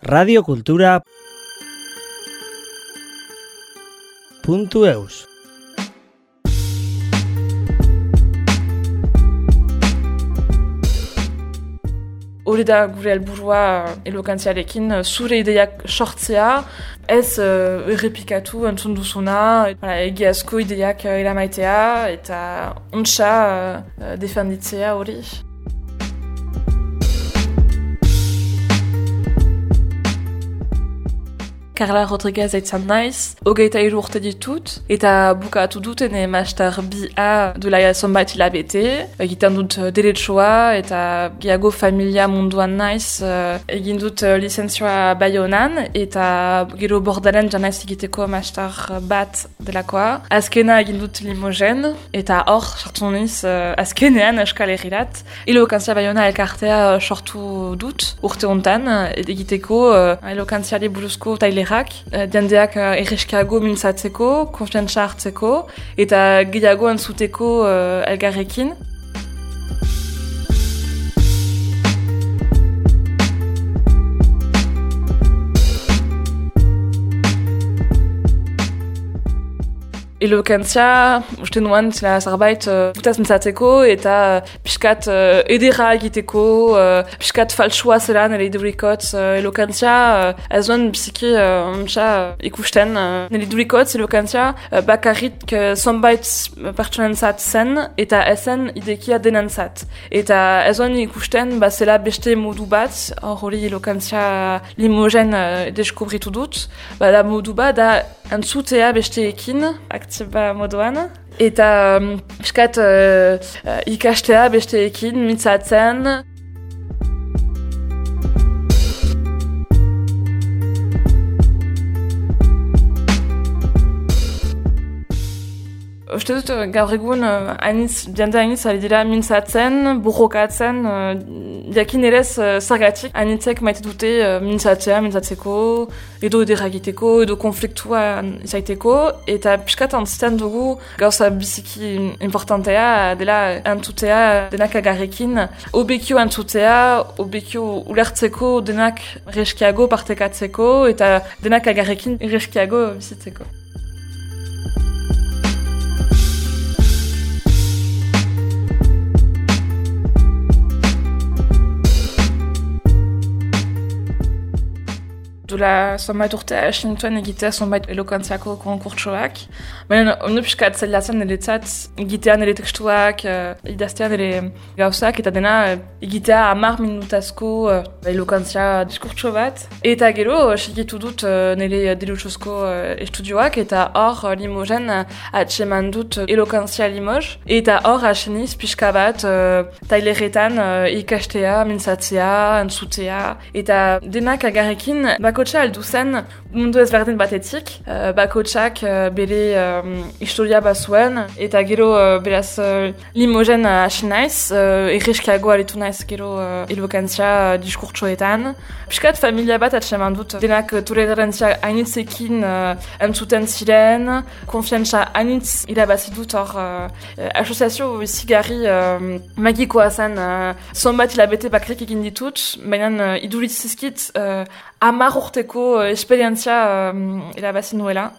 radiokultura.eus. Hori da gure helburua elokantziarekin, zure ideiak sortzea, ez errepikatu entzun duzuna, egiazko ideiak eramaitea eta ontsa defenditzea hori. Carla Rodriguez aitzan naiz, 23 urte ditut, eta bukatu dut ene master BA duela zonbait hilabete, egiten dut deretsoa eta gehiago familia munduan naiz, egin dut lizentzioa Baionan, eta gero Bordalen janaiz egiteko master bat delakoa. Azkena egin dut Limogen, eta hor sartu niz azkenean Euskal Herrirat. Elokantzia Baiona elkartea sortu dut urte hontan, egiteko elokantziari buruzko tailer jendeak erreskiago mintzatzeko, konfiantza hartzeko, eta gehiago entzuteko elgarrekin. Elokantzia, uste nuen, zela zerbait putaz mintzatzeko eta pixkat edera egiteko, pixkat faltsua zela nire idurikotz elokantzia, ez duen biziki ikusten. Nire idurikotz elokantzia bakarrik zonbait pertsonentzat zen eta ezen idekia denentzat. Eta ez duen ikusten zela beste modu bat, hori elokantzia Limogen deskubritu dut, da modu bat da entzutea besteekin, aktiba moduan, eta piskat ikastea besteekin mintzatzen. Uste dut, gaur egun, jende hainitz ari dira mintzatzen, borrokatzen, jakin erez zergatik hainitzek maite dute mintzatzeko, edo ederagiteko, edo konfliktua izaiteko, eta piskat antziten dugu gauza biziki importantea dela entzutea denak agarrekin, obekio entzutea, obekio ulertzeko denak reskiago partekatzeko, eta denak agarrekin reskiago bizitzeko. Dula zonbait urtea esinituen egitea zonbait elokantziako konkurtsoak. Baina onu piskat zailatzen niretzat egitea nire tekstuak, idaztea nire gauzak, eta dena egitea 10 minutazko elokantzia diskurtso bat. Eta gero, segitu dut nire delutsozko estudioak, eta hor Limogen atseman dut elokantzia Limoges, eta hor aseniz pixka bat taileretan ikastea, mintzatzea, entzutea, eta denak agarrekin bakotxa aldu zen mundu ezberdin batetik, bakotxak bere historia bazuen, eta gero beraz Limogen hasi naiz, erreskiago aritu naiz gero elokantzia diskurtsoetan. Piskat familia bat atseman dut, denak tolerantzia hainitzekin entzuten ziren, konfiantza hainitz irabazi dut hor asoziazio zigarri magikoa zen, zonbat hilabete bakarrik egin ditut, baina iduritzizkit 10 urteko esperientzia irabazi nuela.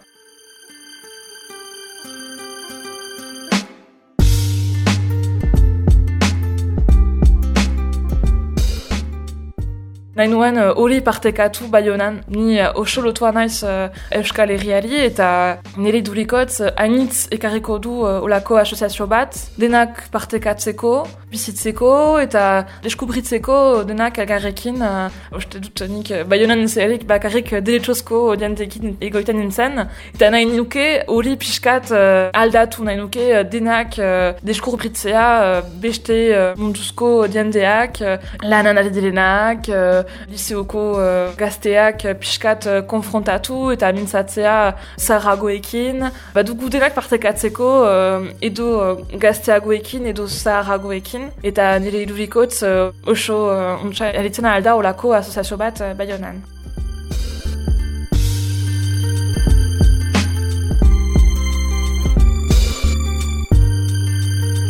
Nahi nuen hori partekatu Baionan. Ni oso lotua naiz Euskal Herriari eta nire durikotz hainitz ekarriko du olako asoziazio bat, denak partekatzeko, bizitzeko eta deskubritzeko denak elgarrekin. Uste dut nik Baionan zerik bakarrik deletxozko dientekin egoiten nintzen, eta nahi nuke hori pixkat aldatu, nahi nuke denak deskubritzea beste munduzko dienteak, lanan ari direnak, liseoko gazteak pixkat konfrontatu eta mintzatzea zaharragoekin. Badugu denak partekatzeko edo gazteagoekin edo zaharragoekin. Eta nire idurikotz oso eritzen alda olako asoziazio bat Baionan.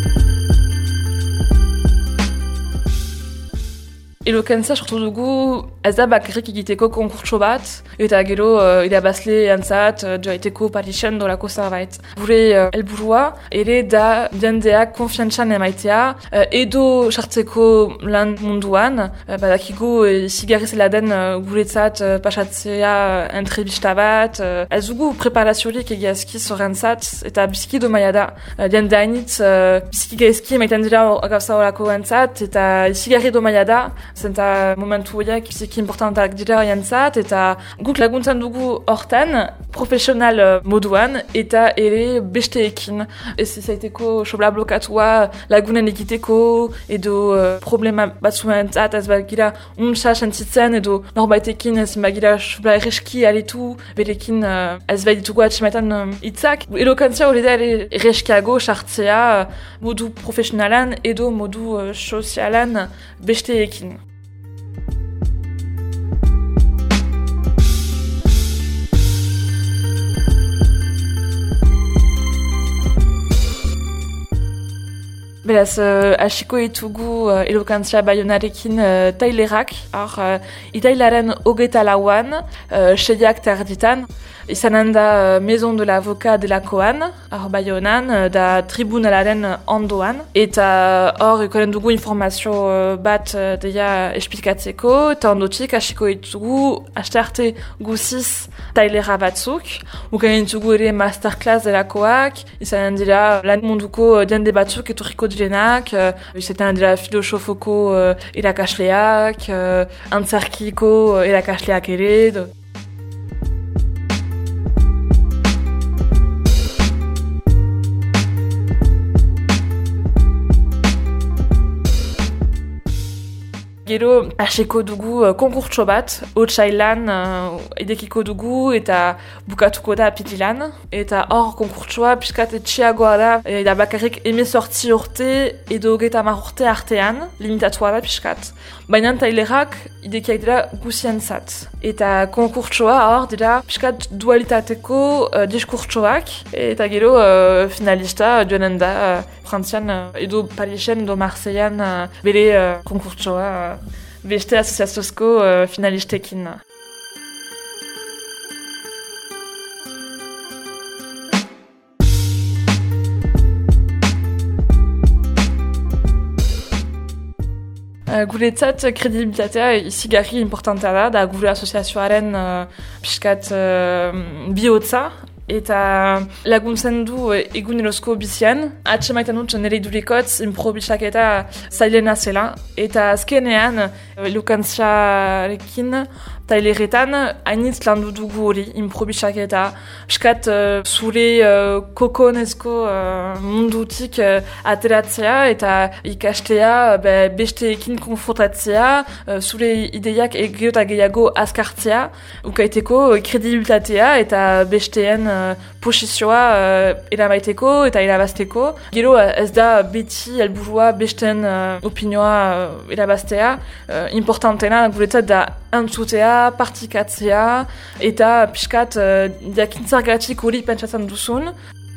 Elokantzia sortu dugu ez da bakarrik egiteko konkurtso bat, eta gero irabazle antzat joaiteko Parisen dolako zerbait. Gure helburua ere da jendeak konfiantzan emaitea, edo sartzeko lan munduan, badakigu izigarri zela den guretzat pasatzea entrevista bat, ez dugu preparaziorik egiazki zorrentzat, eta biziki domaia da. Jende hainitz biziki gaizki emaiten dira gauza horako entzat, eta izigarri domaia da, zenta momentu horiek biziki importantak dira entzat, eta guk laguntzen dugu hortan, profesional moduan, eta ere besteekin. Ez izaiteko sobla blokatua lagunen egiteko, edo problema batzuentzat ez bagira untsa sentitzen, edo norbaitekin ez bagira sobla erreski aritu, berekin ez baitugu atximetan hitzak. Elokantzia hori da ere erreskiago sartzea modu profesionalan edo modu sozialan besteekin. Beraz, hasiko ditugu elokantzia Baionarekin tailerak, itailaren 24an, 6ak terditan, izanen da Maison de l'Avocat delakoan, Baionan, da tribunalaren ondoan, eta hor ikonen dugu informazio bat deia esplikatzeko, eta ondotik hasiko ditugu astearte guziz tailera batzuk, ukanen ditugu ere masterclass delakoak, izanen dira lan munduko jende batzuk etorriko direnak, izaten dira filosofoko irakasleak, antzerkiko irakasleak ere. Gero, hasiko dugu konkurtso bat, otsailan idekiko dugu eta bukatuko da apirilan. Eta hor konkurtsoa piskat etxiagoa da bakarrik 18 urte edo 30 urte artean, limitatua da piskat. Baina tailerak idekiak dira guzientzat. Eta konkurtsoa hor dira piskat dualitateko diskurtsoak, eta gero finalista joanen da Frantzian edo Parisen edo Marseillan bere konkurtsoa beste asoziaziozko finalistekin. Guretzat kredibilitatea izigarri importantea da gure asoziazioaren piskat bihotza, eta laguntzen du egunerozko bizian. Atxemaiten dut nire idurikotz improbisak eta zailena zela. Eta azkenean, elokantzia-rekin, taileretan, hainitz landu dugu hori, improbisak eta piskat zure kokonezko mundutik ateratzea eta ikastea besteekin konfrontatzea, zure ideiak gero eta gehiago azkartzea, ukaiteko kredibilitatea eta besteen posizioa eramaiteko eta erabazteko. Gero ez da beti helburua besteen opinioa erabaztea, importantena guretzat da antzutea, partikatzea eta piskat jakintzargatik hori pentsatzen duzun.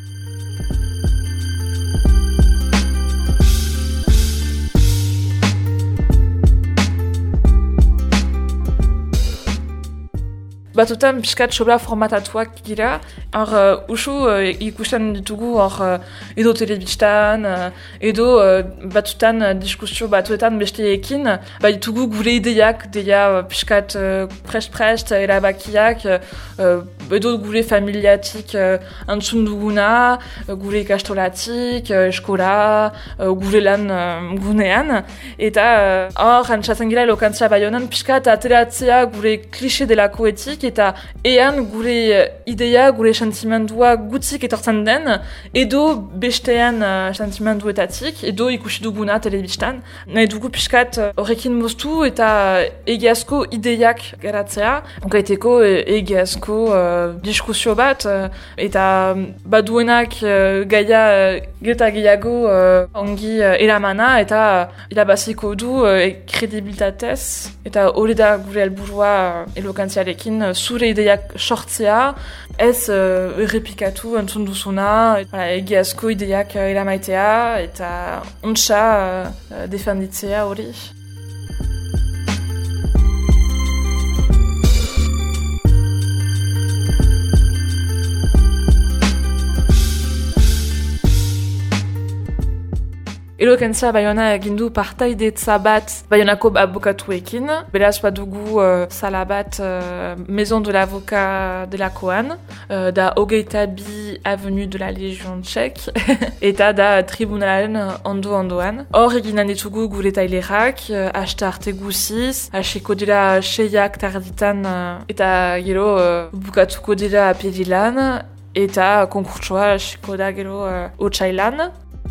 Batutan piskat sobra formatatuak gira, hor usu ikusten ditugu hor edo telebistan, edo batutan diskusio batuetan besteekin, ditugu gure ideiak, deia piskat prest erabakiak, edo gure familiatik antzun duguna, gure ikastolatik, eskola, gure lan gunean, eta hor antzatzen gira elokantzia Baionan piskat ateratzea gure klixe delakoetik, eta ean gure ideia, gure sentimendua gutzik etortzen den, edo bestean sentimenduetatik, edo ikusi duguna telebistan. Nahi dugu piskat horrekin moztu eta egiazko ideiak garatzea, gaiteko egiazko diskusio bat, eta baduenak gaia geta gehiago ongi eramana, eta irabaziko du kredibilitatez, eta hori da gure helburua elokantziarekin, zure ideiak sortzea, ez errepikatu entzun duzuna, egiazko ideiak eramaitea eta ontsa defenditzea hori. Eloquentzia Bayona egin du partaidetza bat Bayonako abokatuekin. Beraz badugu sala bat Maison de l'Avocat delakoan, da 22 Avenue de la Légion Tchèque, eta da tribunalen ondoan. Hor eginan ditugu gure tailerak, hasta arte guziz, hasiko dira 6ak tarditan, eta gero bukatuko dira apirilan, eta konkurtsoa hasiko da gero otsailan.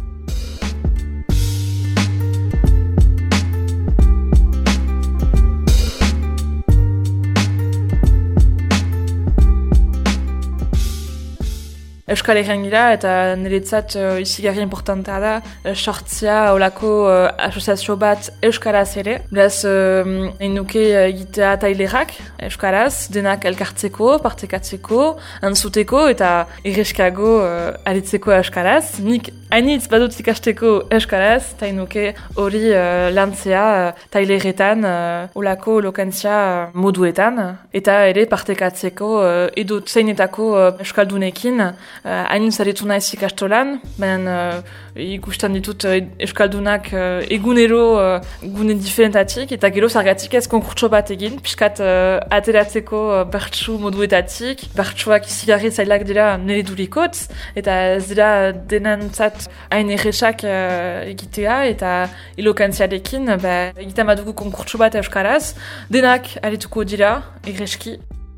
Euskal Herrian gira eta niretzat izigarri importantea da sortzia olako asoziazio bat euskaraz ere. Beraz, egin nuke egitea tailerak euskaraz, denak elkartzeko, partekatzeko, antzuteko eta irreskago aritzeko euskaraz. Nik hainitz badut ikasteko euskaraz, eta egin nuke hori lantzea taileretan olako eloquentzia moduetan, eta ere partekatzeko edo zeinetako euskaldunekin. Hain zaretu naiz ikastolan, baina ikusten ditut euskaldunak egunero gune diferentatik, eta gero zergatik ez konkurtso bat egin, piskat ateratzeko bertsu moduetatik, bertsuak izigarri zailak dira nire durikotz, eta ez dira denantzat hain erresak egitea, eta elokantziarekin egiten badugu konkurtso bat euskaraz, denak arituko dira, erreski.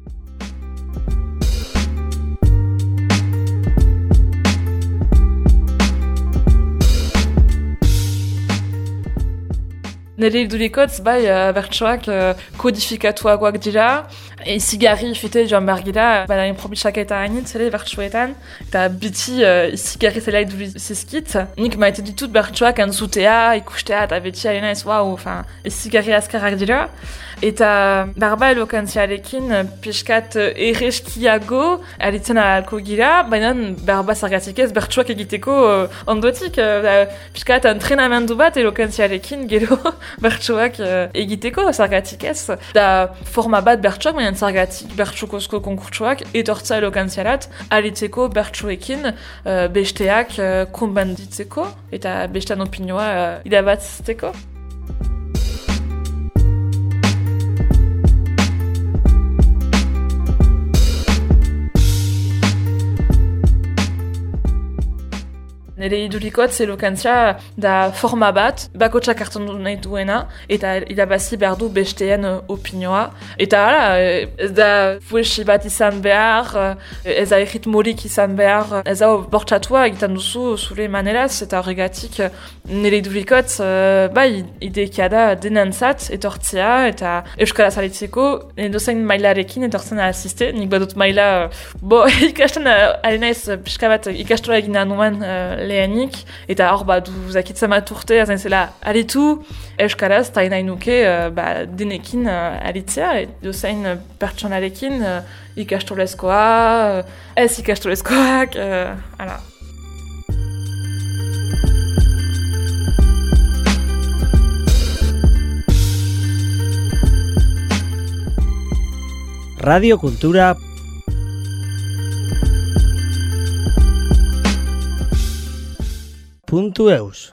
Nire idurikotz, bertsoak kodifikatuagoak dira, izigarri fite joan behar gira, baina improbisak eta hainitz ere bertsoetan, eta biti izigarri zela iduritzizkit. Nik maite ditut bertsoak entzutea, ikustea, eta beti arena ez, izigarri azkarrak dira. Eta berba elokantziarekin piskat erreskiago aritzen ahalko gira, baina berba zergatik ez bertsoak egiteko ondotik. Piskat entrenamendu bat elokantziarekin gero bertsoak egiteko zergatik ez. Da forma bat bertsoak, baina zergatik bertsukozko konkurtsoak etortza elokantziarat aritzeko bertsoekin besteak konbenditzeko eta bestean opinioa irabatzeko. Nire idurikotz elokantzia da forma bat, bakotsak hartzen nahi duena, eta irabazi behar du besteen opinioa. Eta ez da fuesi bat izan behar, ez da erritmorik izan behar, ez da bortxatua egiten duzu zure maneraz, eta horregatik nire idurikotz idekia da denantzat etortzea, eta euskaraz alitzeko, dozain mailarekin etortzen asiste, nik badut maila, ikasten alenaiz pixka bat ikastola egin anuan lehenik, eta hor badu zakitzen bat urte, azain zela aritu euskaraz, eta nahi nuke denekin aritzea, dozain pertsonarekin ikastolezkoa, ez ikastolezkoak, ala. Radio Kultura .eus